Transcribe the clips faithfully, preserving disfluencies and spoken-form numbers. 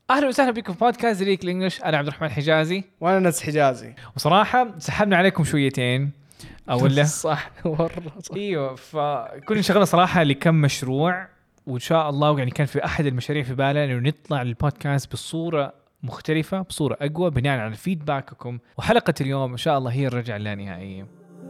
اهلا وسهلا بكم في بودكاست ريك الانجليش. انا عبد الرحمن حجازي وانا ناس حجازي. وصراحه سحبنا عليكم شويتين او لا صح مره صح. ايوه فكنا شغلنا صراحه لكم مشروع، وان شاء الله يعني كان في احد المشاريع في بالنا انه نطلع للبودكاست بصوره مختلفه، بصوره اقوى بناء على فيدباككم. وحلقه اليوم ان شاء الله هي الرجعه اللانهائيه.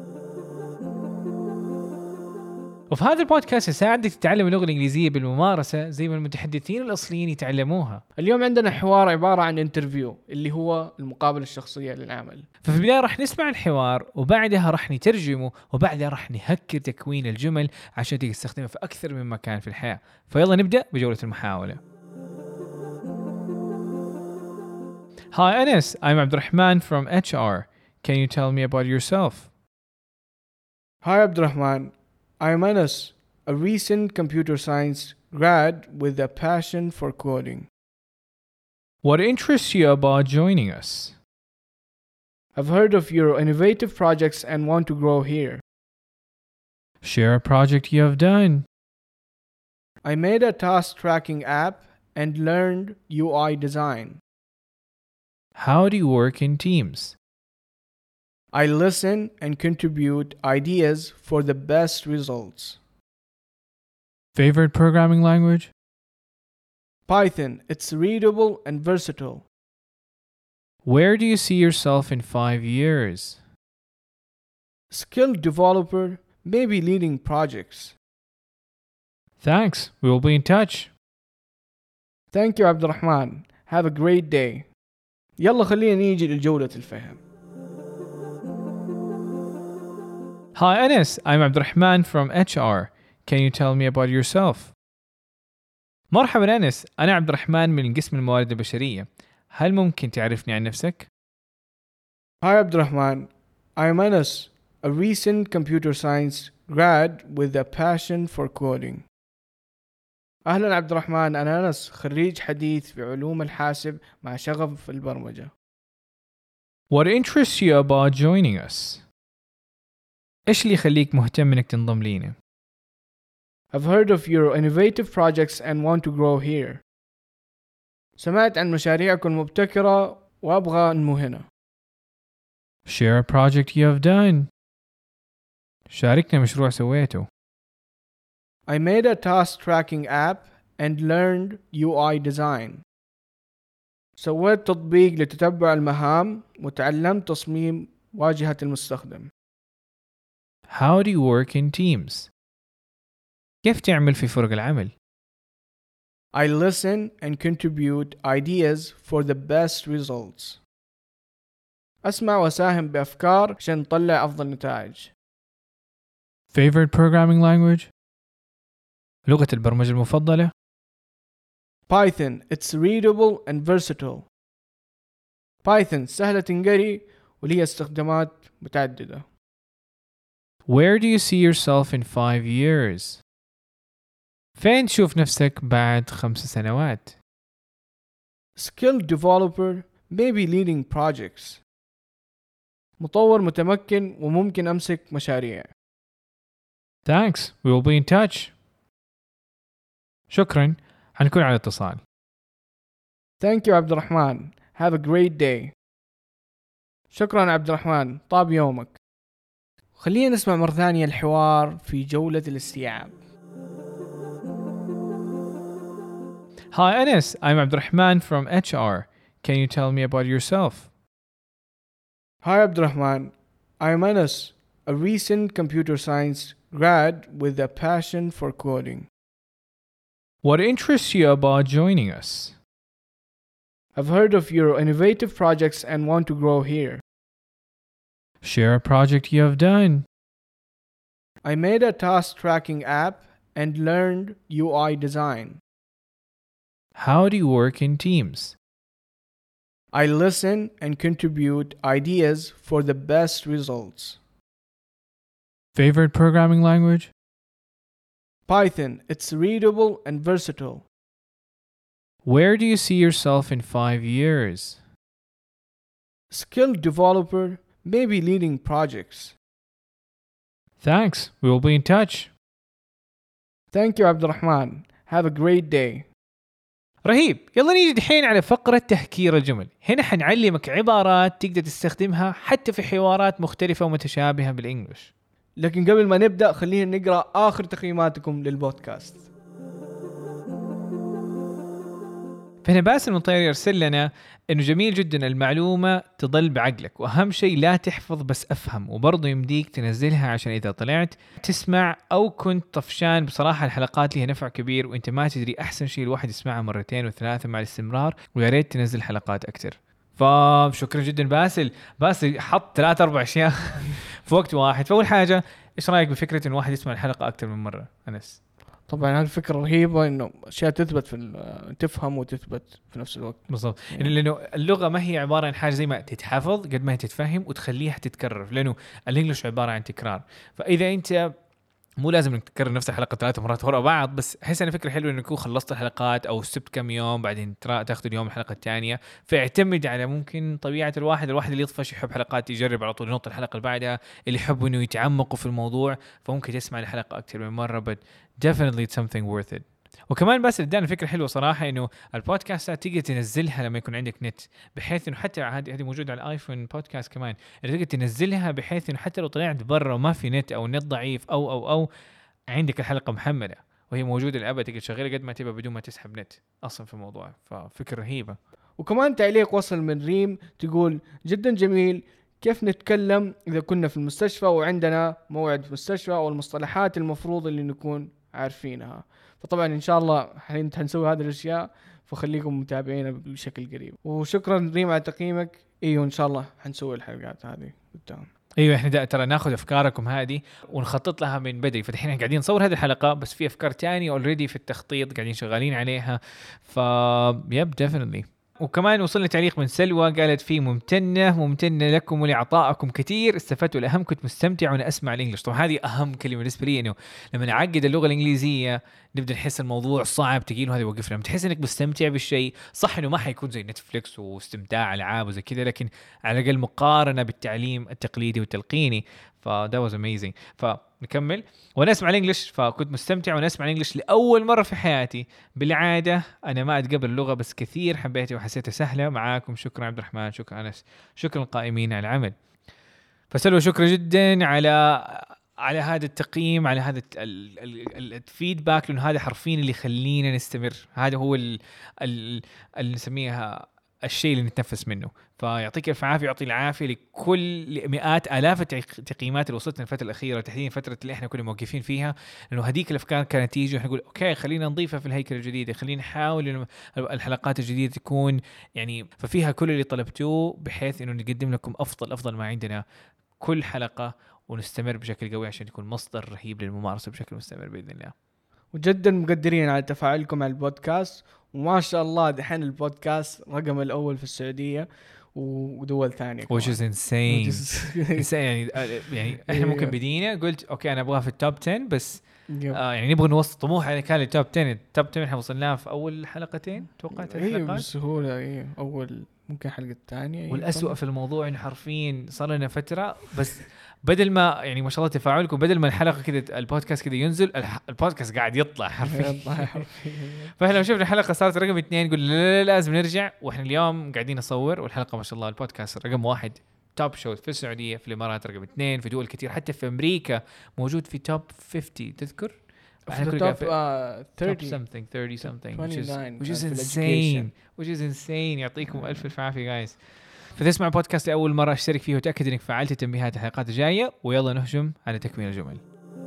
وفي هذا البودكاست يساعدك تتعلم اللغة الإنجليزية بالممارسة زي ما المتحدثين الأصليين يتعلموها. اليوم عندنا حوار عبارة عن انترفيو اللي هو المقابلة الشخصية للعمل. ففي البداية راح نسمع الحوار وبعدها راح نترجمه وبعدها راح نهكر تكوين الجمل عشان تقدر تستخدمه في أكثر من مكان في الحياة. فيلا نبدأ بجولة المحاولة. Hi Anas, I'm Abdurrahman from H R. Can you tell me about yourself? Hi Abdurrahman, I'm Anas, a recent computer science grad with a passion for coding. What interests you about joining us? I've heard of your innovative projects and want to grow here. Share a project you have done. I made a task tracking app and learned U I design. How do you work in teams? I listen and contribute ideas for the best results. Favorite programming language? Python, it's readable and versatile. Where do you see yourself in five years? Skilled developer, maybe leading projects. Thanks. We will be in touch. Thank you Abdurrahman. Have a great day. يلا خلينا نيجي لجولة الفهم. Hi Anas, I'm Abdurrahman from H R. Can you tell me about yourself? مرحبا أنس، أنا عبد الرحمن من قسم الموارد البشرية. هل ممكن تعرفني عن نفسك؟ Hi Abdurrahman, I'm Anas, a recent computer science grad with a passion for coding. أهلا عبد الرحمن، أنا أنس خريج حديث في علوم الحاسب مع شغف في البرمجة. What interests you about joining us? إيش اللي يخليك مهتم إنك تنضم لينا؟ I've heard of your innovative projects and want to grow here. سمعت عن مشاريعكم المبتكرة وأبغى أنمو هنا. Share a project you have done. شاركنا مشروع سويته. I made a task tracking app and learned U I design. سويت تطبيق لتتبع المهام وتعلمت تصميم واجهة المستخدم. How do you work in teams? كيف تعمل في فرق العمل؟ I listen and contribute ideas for the best results. أسمع وأساهم بأفكار عشان نطلع أفضل نتائج. Favorite programming language? لغة البرمجة المفضلة؟ Python, it's readable and versatile. Python سهلة تنقري وليها استخدامات متعددة. Where do you see yourself in five years? فين تشوف نفسك بعد خمس سنوات؟ Skilled developer, maybe leading projects. مطور متمكن وممكن أمسك مشاريع. Thanks. We will be in touch. شكرا. حنكون على اتصال. Thank you عبد الرحمن. Have a great day. شكرا عبد الرحمن. طاب يومك. خلينا نسمع مرة ثانية الحوار في جولة الاستيعاب. Hi Anas, I'm Abdurrahman from H R. Can you tell me about yourself? Hi Abdurrahman, I'm Anas, a recent computer science grad with a passion for coding. What interests you about joining us? I've heard of your innovative projects and want to grow here. Share a project you have done. I made a task tracking app and learned U I design. How do you work in teams? I listen and contribute ideas for the best results. Favorite programming language? Python, it's readable and versatile. Where do you see yourself in five years? Skilled developer, maybe leading projects. Thanks. We will be in touch. Thank you Abdurrahman. Have a great day. رهيب. يلا نيجي دحين على فقرة تهكير الجمل. هنا حنعلمك عبارات تقدر تستخدمها حتى في حوارات مختلفة ومتشابهة بالإنجليش. لكن قبل ما نبدأ خلينا نقرأ آخر تقييماتكم للبودكاست. فهنا باسل المطير يرسل لنا إنه جميل جدا المعلومة تضل بعقلك، وأهم شيء لا تحفظ بس أفهم، وبرضه يمديك تنزلها عشان إذا طلعت تسمع أو كنت طفشان. بصراحة الحلقات لها نفع كبير وإنت ما تدري، أحسن شيء الواحد يسمعها مرتين وثلاثة مع الاستمرار، ويا ريت تنزل حلقات أكتر. فشكرا جدا باسل. باسل حط ثلاثة أربع أشياء في وقت واحد. فأول حاجة، إيش رأيك بفكرة إنه واحد يسمع الحلقة أكتر من مرة أنس؟ طبعا هالفكرة رهيبة، إنه أشياء تثبت في تفهم وتثبت في نفس الوقت. بالضبط، يعني لأنه اللغة ما هي عبارة عن حاجة زي ما تتحفظ قد ما هي تتفهم وتخليها تتكرر، لأنه الإنجليش عبارة عن تكرار. فإذا أنت مو لازم انك تكرر نفس الحلقه ثلاث مرات ورا بعض، بس احس ان فكره حلوه انك تكون خلصت الحلقات او سبت كم يوم بعدين تاخذ اليوم الحلقه الثانيه. فاعتمد على ممكن طبيعه الواحد الواحد اللي يطفش يحب حلقات يجرب على طول ينط الحلقه اللي بعدها، اللي يحب انه يتعمقوا في الموضوع فممكن تسمع الحلقه اكثر من مره. but definitely it's something worth it. وكمان بس ادانا فكره حلوه صراحه، انه البودكاستات تقدر تنزلها لما يكون عندك نت، بحيث انه حتى هذه هذه موجوده على الايفون بودكاست كمان، تقدر تنزلها بحيث انه حتى لو طلعت برا وما في نت او النت ضعيف او او او عندك الحلقة محملة وهي موجودة للأبد، تقدر تشغلها قد ما تبى بدون ما تسحب نت أصلا في الموضوع. ففكرة رهيبة. وكمان تعليق وصل من ريم تقول جدا جميل، كيف نتكلم إذا كنا في المستشفى وعندنا موعد في المستشفى، أو المصطلحات المفروض اللي نكون عارفينها. فطبعا إن شاء الله حنسوي هذه الأشياء، فخليكم متابعينا بشكل قريب. وشكرا ريم على تقييمك. إيوه إن شاء الله حنسوي الحلقات هذه قدام. ايوه احنا ترى ناخذ افكاركم هذه ونخطط لها من بدري. فدحين قاعدين نصور هذه الحلقه، بس في افكار تانية اوريدي في التخطيط قاعدين شغالين عليها. ف يب ديفينتلي. وكمان وصلنا تعليق من سلوى قالت فيه ممتنه ممتنه لكم ولعطائكم كثير، استفدت والاهم كنت مستمتع وانا اسمع الانجليش. طبعا هذه اهم كلمه بالنسبه لي، انه لما نعقد اللغه الانجليزيه نبدا نحس الموضوع صعب تقيل، وهذا يوقفنا. لما تحس انك مستمتع بالشيء، صح انه ما حيكون زي نتفليكس واستمتاع العاب وزي كذا، لكن على الاقل مقارنه بالتعليم التقليدي والتلقيني. فده واز اميزنج. فنكمل. وانا اسمع الانجليش فكنت مستمتع وانا اسمع الانجليش لاول مره في حياتي. بالعاده انا ما اتقبل اللغه، بس كثير حبيتها وحسيتها سهله معاكم. شكرا عبد الرحمن، شكرا انس، شكرا القائمين على العمل. فسلوى شكرا جدا على على هذا التقييم، على هذا الفيدباك، لانه هذا حرفيا اللي يخلينا نستمر. هذا هو اللي نسميها الشيء اللي نتنفس منه. فيعطيك الف عافيه، يعطي العافيه لكل مئات الاف التقييمات اللي وصلتنا الفتره الاخيره، تحديدا الفتره اللي احنا كنا موقفين فيها، لانه هذيك الافكار كانت تيجي ونقول اوكي خلينا نضيفها في الهيكله الجديده، خلينا نحاول انه الحلقات الجديده تكون يعني ففيها كل اللي طلبتوه، بحيث انه نقدم لكم افضل افضل ما عندنا كل حلقه، ونستمر بشكل قوي عشان يكون مصدر رهيب للممارسه بشكل مستمر باذن الله. وجدا مقدرين على تفاعلكم على البودكاست، وما شاء الله دحين البودكاست رقم الأول في السعودية ودول ثانية. which is insane. insane يعني يعني احنا ممكن بدينا قلت اوكي انا ابغاها في التوب عشرة، بس آه يعني نبغى نوصل طموح يعني كان التوب عشرة. التوب عشرة احنا وصلناه في اول حلقتين توقعت الحلقات. ايه بسهولة. ايه اول ممكن حلقة الثانية. والأسوأ في الموضوع انه حرفيا صار لنا فترة، بس بدل ما يعني ما شاء الله تفاعلكم، بدل ما الحلقة كده البودكاست كده ينزل، البودكاست قاعد يطلع حرفيا. فاحنا لو شفنا الحلقة صارت رقم اثنين نقول لا لازم نرجع، واحنا اليوم قاعدين نصور والحلقة ما شاء الله البودكاست رقم واحد توب شو في السعودية، في الإمارات رقم اثنين، في دول كتير حتى في أمريكا موجود في توب خمسين. تذكر في توب thirty something thirty something which is which is insane which is insane. يعطيكم ألف ألف عافية guys. فتسمع بودكاست لأول مرة اشترك فيه وتأكد إنك فعلت تنبيهات الحلقات الجاية، ويلا نهجم على تكميل الجمل.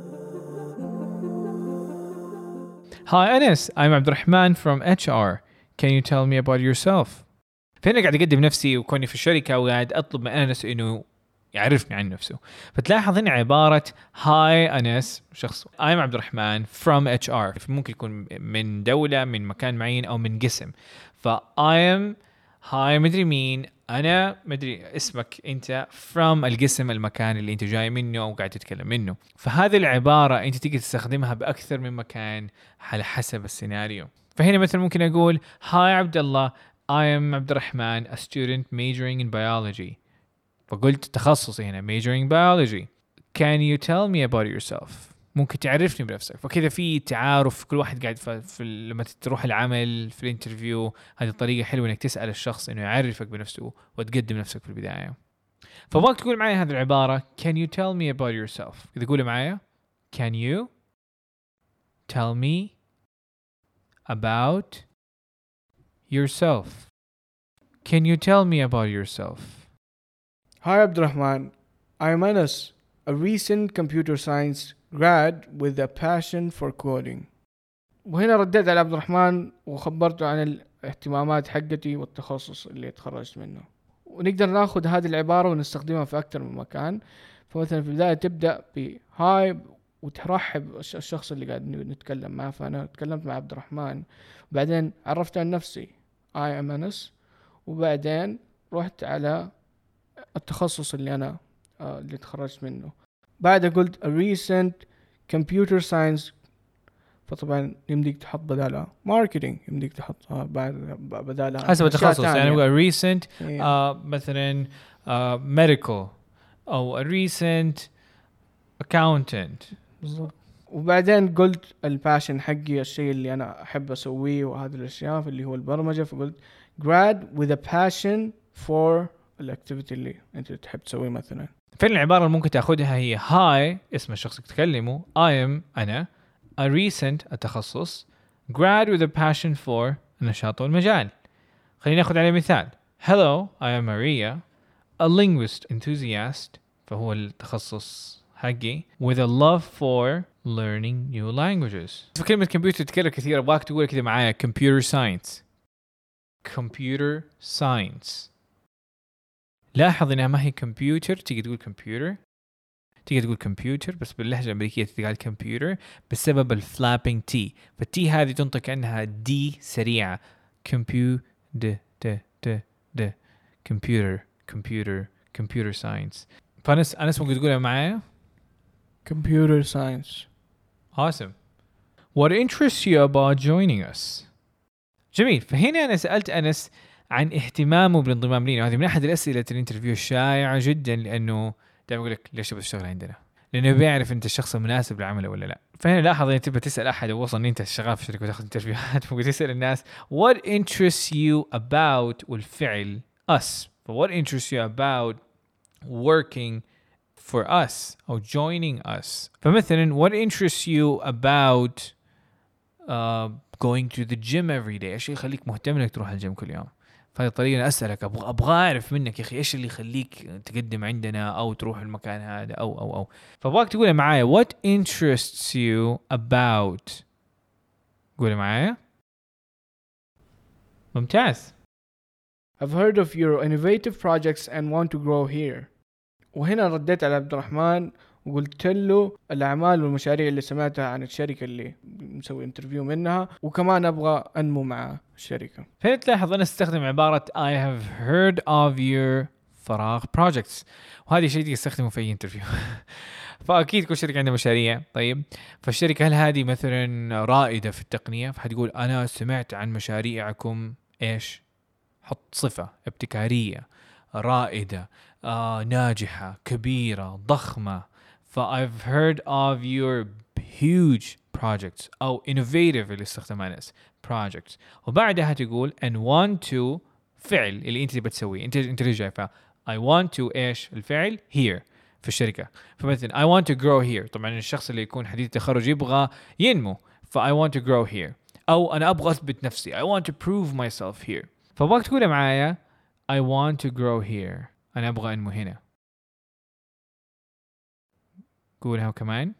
Hi Anas, I'm عبد الرحمن from إتش آر. Can you tell me about yourself? فهنا قاعد أقدم نفسي وكوني في الشركة وقاعد أطلب من أنس إنه يعرفني عن نفسه. فتلاحظ هنا عبارة Hi أنس شخص I'm عبد الرحمن from إتش آر، ممكن يكون من دولة، من مكان معين، أو من قسم. ف I am Hi مدري مين، أنا مدري اسمك أنت from القسم المكان اللي أنت جاي منه أو قاعد تتكلم منه. فهذه العبارة أنت تقدر تستخدمها بأكثر من مكان على حسب السيناريو. فهنا مثلا ممكن أقول Hi عبد الله I am عبد الرحمن a student majoring in biology. فقلت تخصصي هنا majoring biology. Can you tell me about yourself؟ ممكن تعرفني بنفسك. فكذا في تعارف، كل واحد قاعد في, في لما تروح العمل في الانترفيو، هذه طريقة حلوة انك تسأل الشخص انه يعرفك بنفسه وتقدم نفسك في البداية. فبغاك تقول معايا هذه العبارة can you tell me about yourself. إذا قولي معايا can you tell me about yourself. Can you tell me about yourself? Hi Abdurrahman, I'm Anas, a recent computer science grad with a passion for coding. وهنا رديت على عبد الرحمن وخبرته عن الاهتمامات حقتي والتخصص اللي تخرجت منه. ونقدر ناخذ هذه العبارة ونستخدمها في أكثر من مكان. فمثلا في البداية تبدأ بهاي وترحب الشخص اللي قاعد نتكلم معه. فأنا تكلمت مع عبد الرحمن، بعدين عرفت عن نفسي I am Anas، وبعدين رحت على التخصص اللي أنا آه اللي تخرجت منه. بعد قلت a recent computer science، فطبعا يمديك تحط بدالها marketing، يمديك تحطها بعد بدالها حسب التخصص. يعني بقى recent yeah. uh, مثلا uh, medical أو a recent accountant. بالضبط. وبعدين قلت الباشن حقي، الشيء اللي أنا أحب أسويه وهذه الأشياء اللي هو البرمجة. فقلت grad with a passion for الأكتيفيتي اللي أنت تحب تسويه. مثلا فين العبارة اللي ممكن تأخذها هي hi اسم الشخص اللي تكلمه، I am أنا، a recent التخصص، grad with a passion for النشاط والمجال. خلينا نأخذ عليه مثال. Hello, I am Maria, a linguist enthusiast، فهو التخصص حقي، with a love for learning new languages. في كلمة كمبيوتر تتكرر كثير، أبغاك تقول كذا معايا computer science. computer science. لاحظ إنها ما هي كمبيوتر، تيجي تقول كمبيوتر، تيجي تقول كمبيوتر بس باللهجة الأمريكية تقال كمبيوتر بسبب الفلابينج تي. فالتي هذه تنطق كأنها دي سريعة. كمبيو د د د د كمبيوتر كمبيوتر كمبيوتر ساينس. فأنس أنس ممكن تقولها معايا computer science. Awesome. What interests you about joining us? جميل. فهنا أنا سألت أنس عن اهتمامه بالانضمام لنا. هذه من أحد الأسئلة الانترفيو الشائعة جدا، لأنه دائما يقول لك ليش بتشتغل عندنا، لأنه بيعرف أنت الشخص المناسب للعمل ولا لا. فهنا لاحظ أن تبغى تسأل أحد وصل أن أنت شغال في شركة وتأخذ انترفيوهات، ممكن تسأل الناس what interests you about والفعل us. ف what interests you about working for us أو joining us. فمثلا what interests you about uh, going to the gym every day. إيش يخليك مهتم إنك تروح الجيم كل يوم؟ فهذه الطريقة أنا أسألك، أبغى أبغى أعرف منك يا أخي إيش اللي يخليك تقدم عندنا أو تروح المكان هذا أو أو أو فبغاك تقول معايا what interests you about. قول معايا. ممتاز. I've heard of your innovative projects and want to grow here. وهنا رديت على عبد الرحمن وقلت له الأعمال والمشاريع اللي سمعتها عن الشركة اللي مسوي انترفيو منها، وكمان أبغى أنمو مع الشركة. هنا تلاحظ أنا استخدم عبارة I have heard of your فراغ projects، وهذه شيء تستخدمه في أي انترفيو. فأكيد كل شركة عندها مشاريع. طيب فالشركة هل هذه مثلا رائدة في التقنية؟ فهتقول أنا سمعت عن مشاريعكم إيش؟ حط صفة ابتكارية، رائدة، آه، ناجحة، كبيرة، ضخمة. ف I've heard of your huge projects أو innovative اللي استخدمها ناس projects. وبعدها تقول and want to فعل اللي أنت بتسويه. أنت أنت رجع ف I want to إيش الفعل here في الشركة. فمثلا I want to grow here. طبعا الشخص اللي يكون حديث التخرج يبغى ينمو، ف I want to grow here. أو أنا أبغى أثبت نفسي I want to prove myself here. فبغاك تقول معايا I want to grow here. أنا أبغى أنمو هنا. قولها كمان.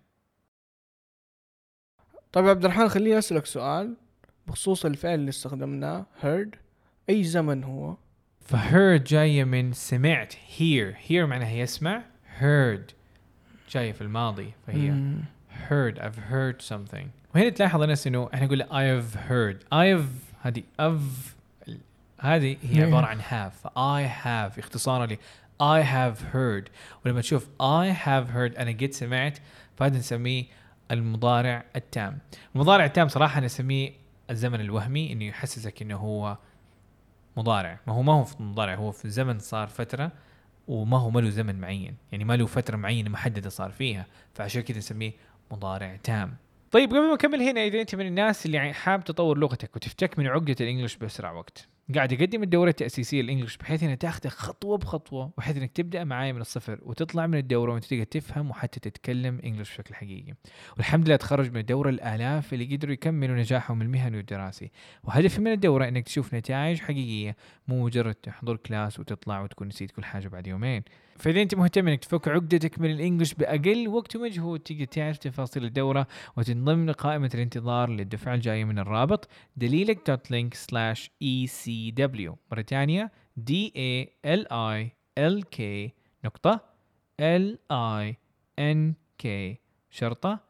طيب عبد الرحمن خليني أسألك سؤال بخصوص الفعل اللي استخدمناه heard. أي زمن هو؟ فheard جاية من سمعت. hear hear معناها يسمع. heard جاية في الماضي فهي mm. heard. I've heard something. وهنا تلاحظ الناس إنه إحنا نقول I've heard. I've هذه of هذه هي عبارة عن have. I have اختصارا لي I have heard. ولما تشوف I have heard أنا قد سمعت، فهذا نسميه المضارع التام. المضارع التام صراحة نسميه الزمن الوهمي، إنه يحسسك إنه هو مضارع، ما هو ما هو في مضارع، هو في الزمن صار فترة وما هو ما له زمن معين، يعني ما له فترة معينة محددة صار فيها، فعشان كده نسميه مضارع تام. طيب قبل ما نكمل هنا، إذا أنت من الناس اللي حاب تطور لغتك وتفتك من عقدة الإنجليش بأسرع وقت، قاعد أقدم الدورة التأسيسية للإنجليش بحيث أنها تاخذك خطوة بخطوة، وحيث أنك تبدأ معايا من الصفر وتطلع من الدورة وأنت تقدر تفهم وحتى تتكلم إنجليش بشكل حقيقي. والحمد لله تخرج من الدورة الآلاف اللي قدروا يكملوا نجاحهم المهني والدراسي. وهدفي من الدورة أنك تشوف نتائج حقيقية، مو مجرد تحضر كلاس وتطلع وتكون نسيت كل حاجة بعد يومين. فإذا أنت مهتم أنك تفك عقدتك من الإنجليش بأقل وقت ومجهود، تقدر تعرف تفاصيل الدورة وتنضم لقائمة الانتظار للدفعة الجاية من الرابط دليلك دوت لينك سلاش إي سي دبليو. مرة تانية دي إيه إل آي إل كي نقطة إل آي إن كي شرطة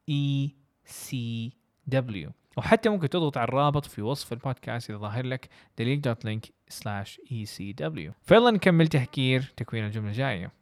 إي سي دبليو. وحتى ممكن تضغط على الرابط في وصف البودكاست إذا ظاهر لك دليل دوت لينك سلاش إي سي دبليو. فيلا نكمل تحكير تكوين الجملة الجاية.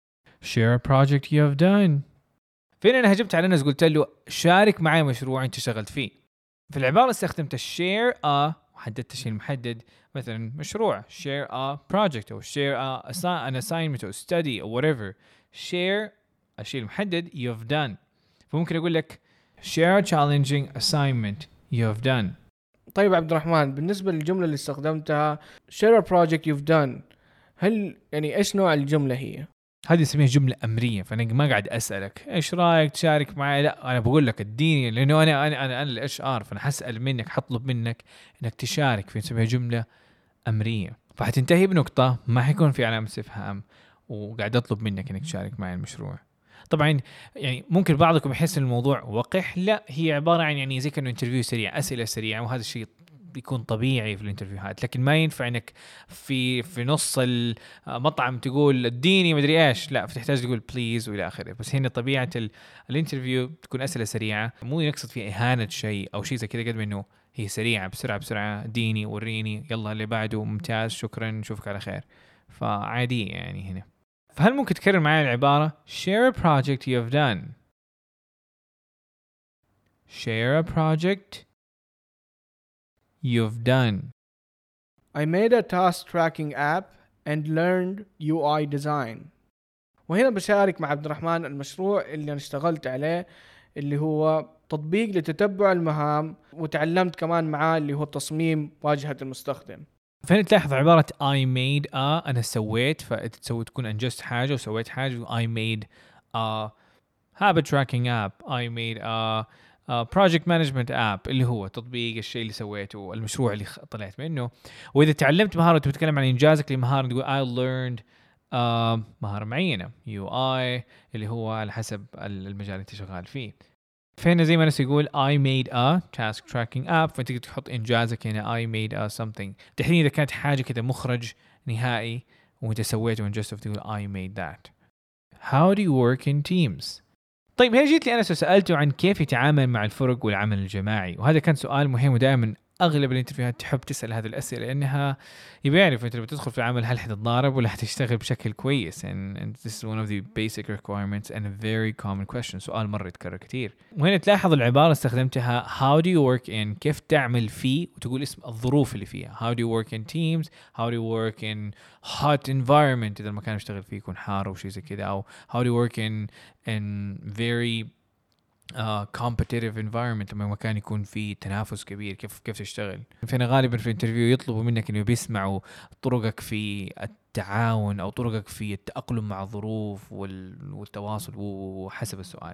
Share a project you have done. فين أنا هجمت على الناس قلت له شارك معي مشروع أنت شغلت فيه. في العبارة استخدمت share a وحددت الشيء المحدد، مثلا مشروع share a project أو share a an assignment أو study أو whatever. share الشيء المحدد you have done. فممكن أقول لك share a challenging assignment you have done. طيب عبد الرحمن، بالنسبة للجملة اللي استخدمتها share a project you've done، هل يعني إيش نوع الجملة هي؟ هذه اسمها جملة أمرية، فأنا ما قاعد أسألك إيش رأيك تشارك معي، لا أنا بقول لك اديني، لأنه أنا أنا أنا أنا الإتش آر، فأنا حسأل منك حطلب منك إنك تشارك، فنسميها جملة أمرية. فحتنتهي بنقطة ما حيكون في علامة استفهام، وقاعد أطلب منك إنك تشارك معي المشروع. طبعا يعني ممكن بعضكم يحس الموضوع وقح، لا هي عبارة عن يعني زي كأنه انترفيو سريع، أسئلة سريعة، وهذا الشيء بيكون طبيعي في الانترفيوهات. لكن ما ينفع انك في في نص المطعم تقول اديني مدري ايش، لا فتحتاج تقول بليز والى اخره. بس هنا طبيعه الانترفيو تكون اسئله سريعه، مو يقصد فيها اهانه شيء او شيء زي كذا، قد ما انه هي سريعه بسرعه بسرعه، اديني وريني يلا اللي بعده ممتاز شكرا نشوفك على خير. فعادي يعني هنا. فهل ممكن تكرر معي العباره share a project you have done. share a project you've done. I made a task tracking app and learned يو آي design. وهنا بشارك مع عبد الرحمن المشروع اللي أنا اشتغلت عليه، اللي هو تطبيق لتتبع المهام، وتعلمت كمان معاه اللي هو تصميم واجهة المستخدم. فهنا تلاحظ عبارة I made a أنا سويت، فتسوي تكون أنجزت حاجة وسويت حاجة. I made a habit tracking app. I made a Uh, project management app اللي هو تطبيق الشيء اللي سويته، المشروع اللي طلعت منه. وإذا تعلمت مهارة وتتكلم عن إنجازك لمهارة، تقول I learned uh, مهارة معينة يو آي اللي هو على حسب المجال اللي انت شغال فيه. فهنا زي ما ناس يقول I made a task tracking app، فانت تحط إنجازك هنا I made a something. تحديدا إذا كانت حاجة كده مخرج نهائي وانت سويته وانجزته فتقول I made that. How do you work in teams؟ طيب هنا جيت لي أنا سألته عن كيف يتعامل مع الفرق والعمل الجماعي، وهذا كان سؤال مهم، ودائما أغلب الانترفيوهات تحب تسأل هذه الأسئلة لأنها يبي يعرف أنت لما تدخل في العمل هل حتتضارب ولا حتشتغل بشكل كويس. and, and this is one of the basic requirements and a very common question. سؤال مرة يتكرر كتير. وهنا تلاحظ العبارة استخدمتها how do you work in، كيف تعمل فيه، وتقول اسم الظروف اللي فيها. how do you work in teams، how do you work in hot environment إذا المكان يشتغل فيه يكون حار أو شيء زي كده، أو how do you work in in very Uh, competitive environment لما مكان يكون فيه تنافس كبير، كيف كيف تشتغل. فهنا غالبا في الانترفيو يطلبوا منك انه بيسمعوا طرقك في التعاون او طرقك في التأقلم مع الظروف والتواصل وحسب السؤال.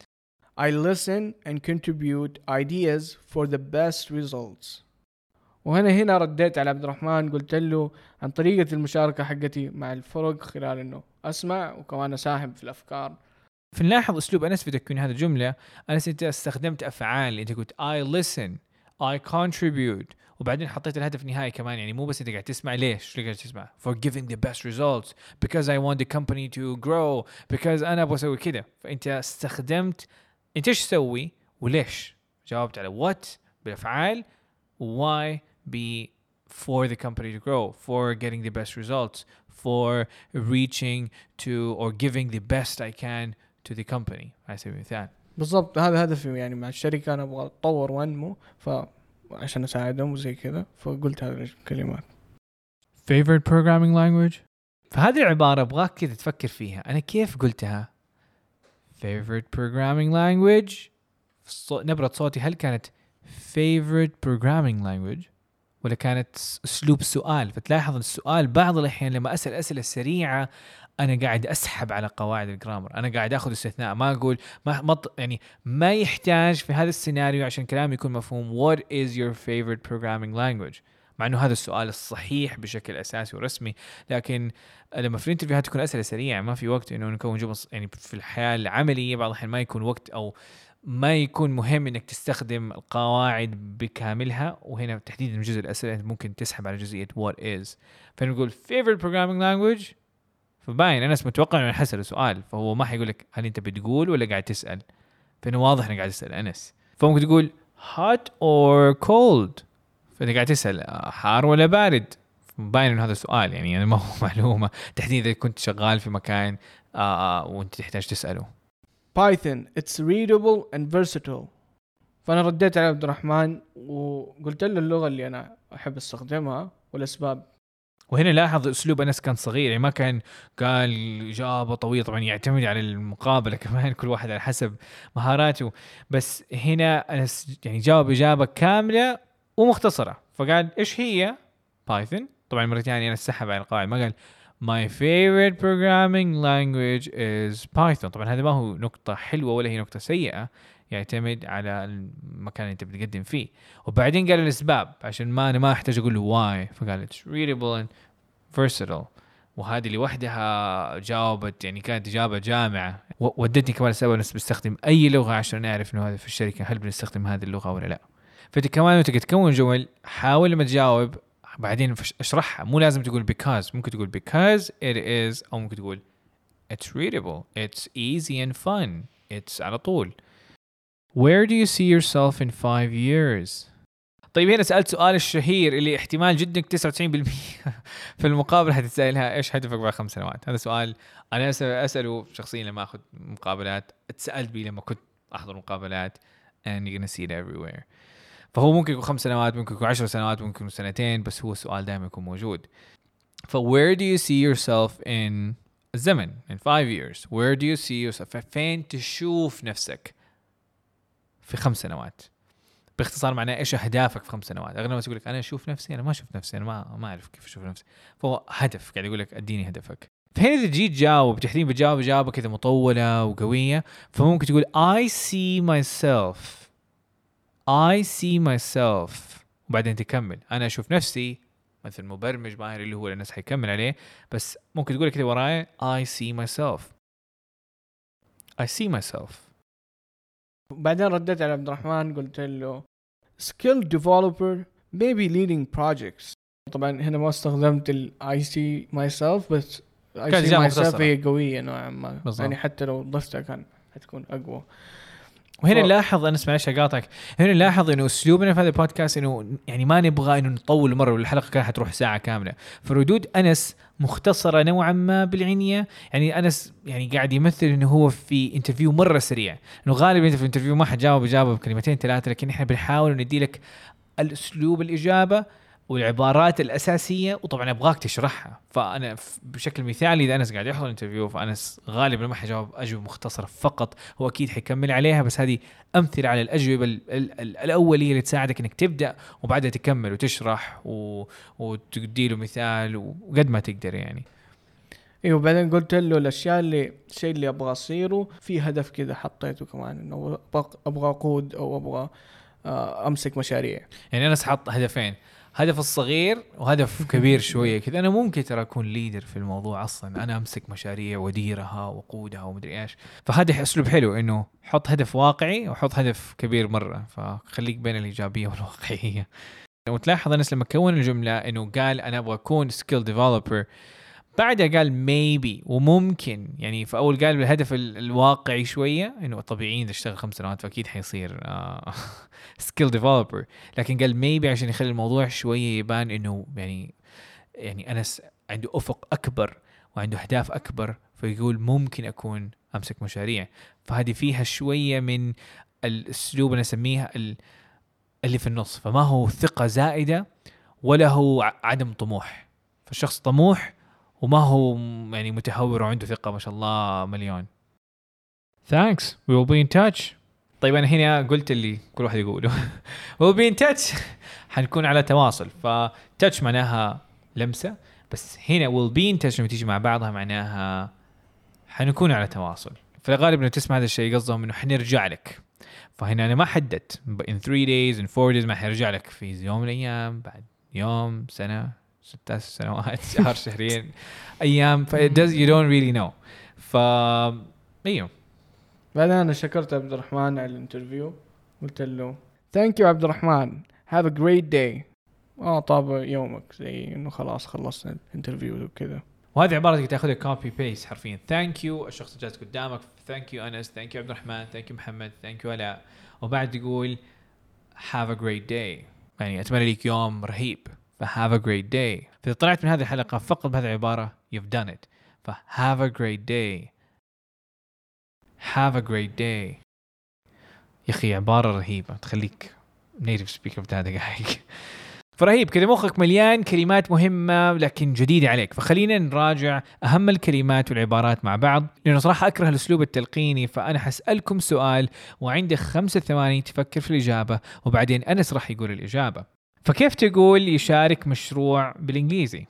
I listen and contribute ideas for the best results. وهنا هنا رديت على عبد الرحمن، قلت له عن طريقة المشاركة حقتي مع الفرق خلال انه اسمع وكمان اساهم في الافكار. فنلاحظ أسلوب أنس في تكوين هذه الجملة. أنس أنت استخدمت أفعال، أنت قلت I listen I contribute، وبعدين حطيت الهدف النهائي كمان، يعني مو بس أنت قاعد تسمع. ليش ليش قاعد تسمع؟ for giving the best results because I want the company to grow because أنا أبغى أسوي كده. فأنت استخدمت أنت إيش تسوي وليش، جاوبت على what بالأفعال، why be for the company to grow, for getting the best results, for reaching to or giving the best I can to the company على سبيل المثال. بالضبط هذا هدفي يعني مع الشركة، أنا أبغى أتطور وأنمو، فعشان أساعدهم وزي كذا فقلت هذه الكلمات. Favorite programming language؟ فهذه العبارة أبغاك كذا تفكر فيها، أنا كيف قلتها؟ favorite programming language. نبرة صوتي هل كانت favorite programming language ولا كانت أسلوب السؤال؟ فتلاحظ السؤال بعض الأحيان لما أسأل أسئلة سريعة أنا قاعد أسحب على قواعد الجرامر، أنا قاعد أخذ استثناء، ما أقول ما مط يعني ما يحتاج في هذا السيناريو عشان كلامي يكون مفهوم. What is your favorite programming language؟ مع إنه هذا السؤال الصحيح بشكل أساسي ورسمي، لكن لما في الانترفيوهات تكون أسئلة سريعة ما في وقت إنه نكون جمل يعني في الحياة العملية بعض الأحيان ما يكون وقت أو ما يكون مهم إنك تستخدم القواعد بكاملها، وهنا تحديدا جزء الأسئلة ممكن تسحب على جزئية what is. فنقول favorite programming language، فباين أنا متوقع إنه حسأل سؤال، فهو ما حيقول لك هل أنت بتقول ولا قاعد تسأل، فإنه واضح إنك قاعد تسأل أنس. فممكن تقول hot or cold، فأنت قاعد تسأل حار ولا بارد، باين إنه هذا سؤال يعني, يعني ما هو معلومة تحديدا إذا كنت شغال في مكان آه وأنت تحتاج تسأله. Python it's readable and versatile. فأنا رديت على عبد الرحمن وقلت له اللغة اللي أنا أحب استخدمها والأسباب. وهنا لاحظ أسلوب أنس كان صغير، يعني ما كان قال إجابة طويلة، طبعا يعتمد على المقابلة كمان كل واحد على حسب مهاراته، بس هنا أنس يعني جاوب إجابة كاملة ومختصرة، فقال إيش هي بايثون. طبعا مرة ثانية أنا سحب على القواعد، ما قال my favorite programming language is Python. طبعا هذا ما هو نقطة حلوة ولا هي نقطة سيئة، يعتمد على المكان اللي انت بتقدم فيه. وبعدين قال الاسباب عشان ما انا ما احتاج اقول له why، فقال it's readable and versatile، وهذه لوحدها جاوبت يعني كانت اجابه جامعه. ودتني كمان اسال الناس بستخدم اي لغه عشان نعرف انه هذا في الشركه هل بنستخدم هذه اللغه ولا لا. فانت كمان وانت تكون جمل حاول لما تجاوب بعدين اشرحها، مو لازم تقول because، ممكن تقول because it is، او ممكن تقول it's readable, it's easy and fun، it's على طول. Where do you see yourself in five years؟ طيب هنا سألت سؤال الشهير اللي احتمال جدا تسعة وتسعين بالمئة في المقابلة هتتسألها، إيش هدفك بعد خمس سنوات؟ هذا سؤال أنا أسأله شخصيا لما أخذ مقابلات، اتسألت بيه لما كنت أحضر مقابلات and you're gonna see it everywhere. فهو ممكن يكون خمس سنوات، ممكن يكون عشر سنوات، ممكن يكون سنتين، بس هو السؤال دائما يكون موجود. ف where do you see yourself in الزمن in five years؟ where do you see yourself؟ فين تشوف نفسك في خمس سنوات؟ باختصار معناه ايش اهدافك في خمس سنوات؟ اغلب الناس يقول لك انا اشوف نفسي، انا ما اشوف نفسي، انا ما ما اعرف كيف اشوف نفسي. فهو هدف قاعد يقول لك اديني هدفك. فهنا اذا جيت جاوب تحديدا بتجاوب اجابه كذا مطوله وقويه، فممكن تقول I see myself I see myself وبعدين تكمل انا اشوف نفسي مثل مبرمج ماهر اللي هو الناس حيكمل عليه، بس ممكن تقول كذا وراي I see myself I see myself. بعدين رديت على عبد الرحمن قلت له skilled developer maybe leading projects. طبعا هنا ما استخدمت ال I see myself، بس I see myself هي قوية نوعا ما، يعني حتى لو ضفتها كان حتكون أقوى. وهنا ف... نلاحظ أنا اسمع ايش اقاطعك، هنا نلاحظ انه اسلوبنا في هذا البودكاست انه يعني ما نبغى انه نطول مره، والحلقه كانت حتروح ساعه كامله. فردود انس مختصره نوعا ما بالعنيه، يعني انس يعني قاعد يمثل انه هو في انترفيو مره سريع، انه غالبا انت في الانترفيو ما حتجاوب اجابه بكلمتين ثلاثه، لكن احنا بنحاول ندي لك الاسلوب الاجابه والعبارات الأساسية، وطبعا أبغاك تشرحها. فأنا بشكل مثالي إذا أنس قاعد يحضر الانترفيو فأنس غالبا ما حيجاوب أجوبة مختصرة فقط، هو أكيد حيكمل عليها، بس هذه أمثلة على الأجوبة الأولية اللي تساعدك إنك تبدأ وبعدها تكمل وتشرح و... وتدي له مثال وقد ما تقدر يعني. ايوه بعدين قلت له الاشياء اللي الشيء اللي ابغى اصيره في هدف كذا حطيته كمان، انه ابغى اقود او ابغى امسك مشاريع. يعني انا حط هدفين، هدف الصغير وهدف كبير شويه كذا. انا ممكن ترى اكون ليدر في الموضوع اصلا، انا امسك مشاريع واديرها واقودها ومدري ايش. فهذا اسلوب حلو انه حط هدف واقعي وحط هدف كبير مره، فخليك بين الايجابيه والواقعيه. وتلاحظ الناس لما كون الجمله انه قال انا ابغى اكون سكيل ديفلوبر، بعدها قال maybe وممكن، يعني في أول قال بالهدف الواقعي شوية إنه طبيعي إذا اشتغل خمس سنوات فأكيد حيصير uh, skill developer، لكن قال maybe عشان يخلي الموضوع شوية يبان إنه يعني يعني أنا عنده أفق أكبر وعنده أهداف أكبر، فيقول ممكن أكون أمسك مشاريع. فهذه فيها شوية من الأسلوب أنا أسميها اللي في النص، فما هو ثقة زائدة ولا هو عدم طموح. فالشخص طموح وما هو يعني متهور وعنده ثقة ما شاء الله مليون. thanks we will be in touch. طيب أنا هنا قلت اللي كل واحد يقوله we'll be in touch حنكون على تواصل. ف touch معناها لمسة، بس هنا we'll be in touch لما تيجي مع بعضها معناها حنكون على تواصل. فالغالب لما تسمع هذا الشيء قصدهم إنه حنرجع لك. فهنا أنا ما حددت in three days in four days ما حيرجع لك في يوم من الأيام، بعد يوم، سنة، ستة سنوات، شهر، شهرين، أيام. ف does you don't really know. ف أيوه. بعدين أنا شكرت عبد الرحمن على الانترفيو، قلت له thank you عبد الرحمن have a great day. آه طاب يومك، زي إنه خلاص خلصنا الانترفيو وكذا. وهذه عبارة تقدر تاخذها copy paste حرفيا. thank you الشخص اللي جالس قدامك، thank you أنس، thank you عبد الرحمن، thank you محمد، thank you علاء، وبعد تقول have a great day، يعني أتمنى لك يوم رهيب. ف have a great day. فإذا طلعت من هذه الحلقة فقط بهذه العبارة you've done it. ف have a great day have a great day. يا أخي عبارة رهيبة تخليك native speaker بتاع دقائق. فرهيب كذا، مخك مليان كلمات مهمة لكن جديدة عليك. فخلينا نراجع أهم الكلمات والعبارات مع بعض، لأنه صراحة أكره الأسلوب التلقيني. فأنا حسألكم سؤال وعندك خمسة ثواني تفكر في الإجابة، وبعدين أنس راح يقول الإجابة. فكيف تقول يشارك مشروع بالإنجليزي؟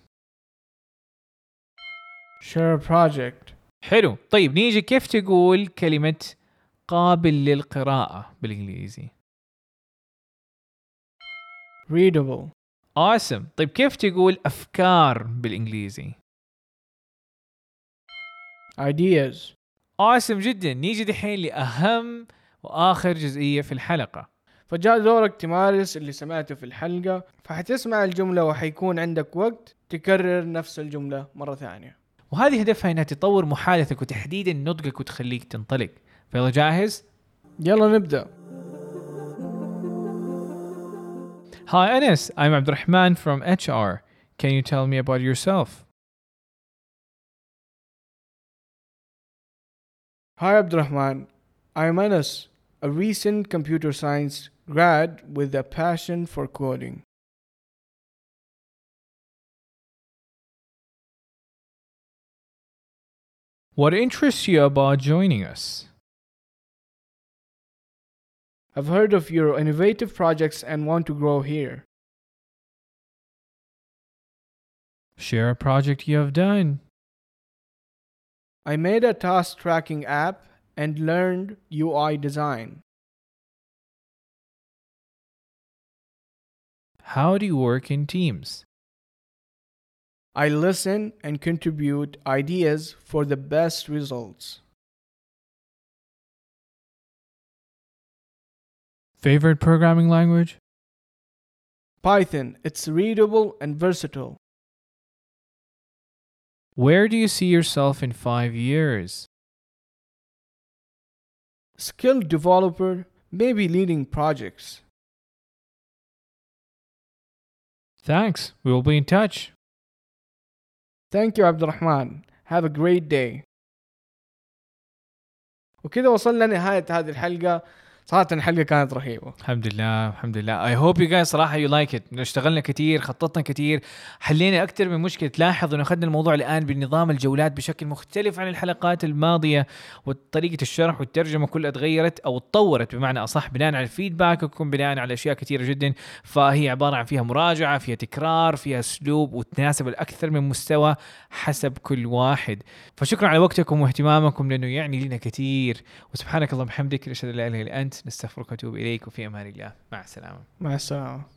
share a project. حلو. طيب نيجي كيف تقول كلمة قابل للقراءة بالإنجليزي؟ readable. awesome. طيب كيف تقول أفكار بالإنجليزي؟ ideas. awesome جدا. نيجي دحين لأهم وآخر جزئية في الحلقة. فجاء دورك تمارس اللي سمعته في الحلقة، فحتسمع الجملة وحيكون عندك وقت تكرر نفس الجملة مرة ثانية. وهذه هدفها انها تطور محادثتك وتحديدا نطقك وتخليك تنطلق. فيلا جاهز؟ يلا نبدأ. Hi Anas, I'm Abdurrahman from H R. Can you tell me about yourself? Hi Abdurrahman, I'm Anas, a recent computer science grad with a passion for coding. What interests you about joining us? I've heard of your innovative projects and want to grow here. Share a project you have done. I made a task tracking app and learned U I design. How do you work in teams? I listen and contribute ideas for the best results. Favorite programming language? Python, it's readable and versatile. Where do you see yourself in five years? Skilled developer, maybe leading projects. Thanks. We will be in touch. Thank you Abdurrahman. Have a great day. وكذا وصلنا لنهاية هذه الحلقة. صراحة الحلقة كانت رهيبة. الحمد لله الحمد لله. I hope you guys صراحة you like it. اشتغلنا كتير، خططنا كتير، حلينا أكتر من مشكلة. تلاحظ إنه أخذنا الموضوع الآن بنظام الجولات بشكل مختلف عن الحلقات الماضية، وطريقة الشرح والترجمة كلها تغيرت أو تطورت بمعنى أصح بناء على الفيدباك وكم بناء على أشياء كتيرة جدا. فهي عبارة عن فيها مراجعة، فيها تكرار، فيها أسلوب، وتناسب الأكثر من مستوى حسب كل واحد. فشكرا على وقتكم واهتمامكم لأنه يعني لنا كتير. وسبحانك اللهم وبحمدك، أشهد أن لا إله إلا أنت، نستغفرك ونتوب إليك، وفي أمان الله. مع السلامة. مع السلامة.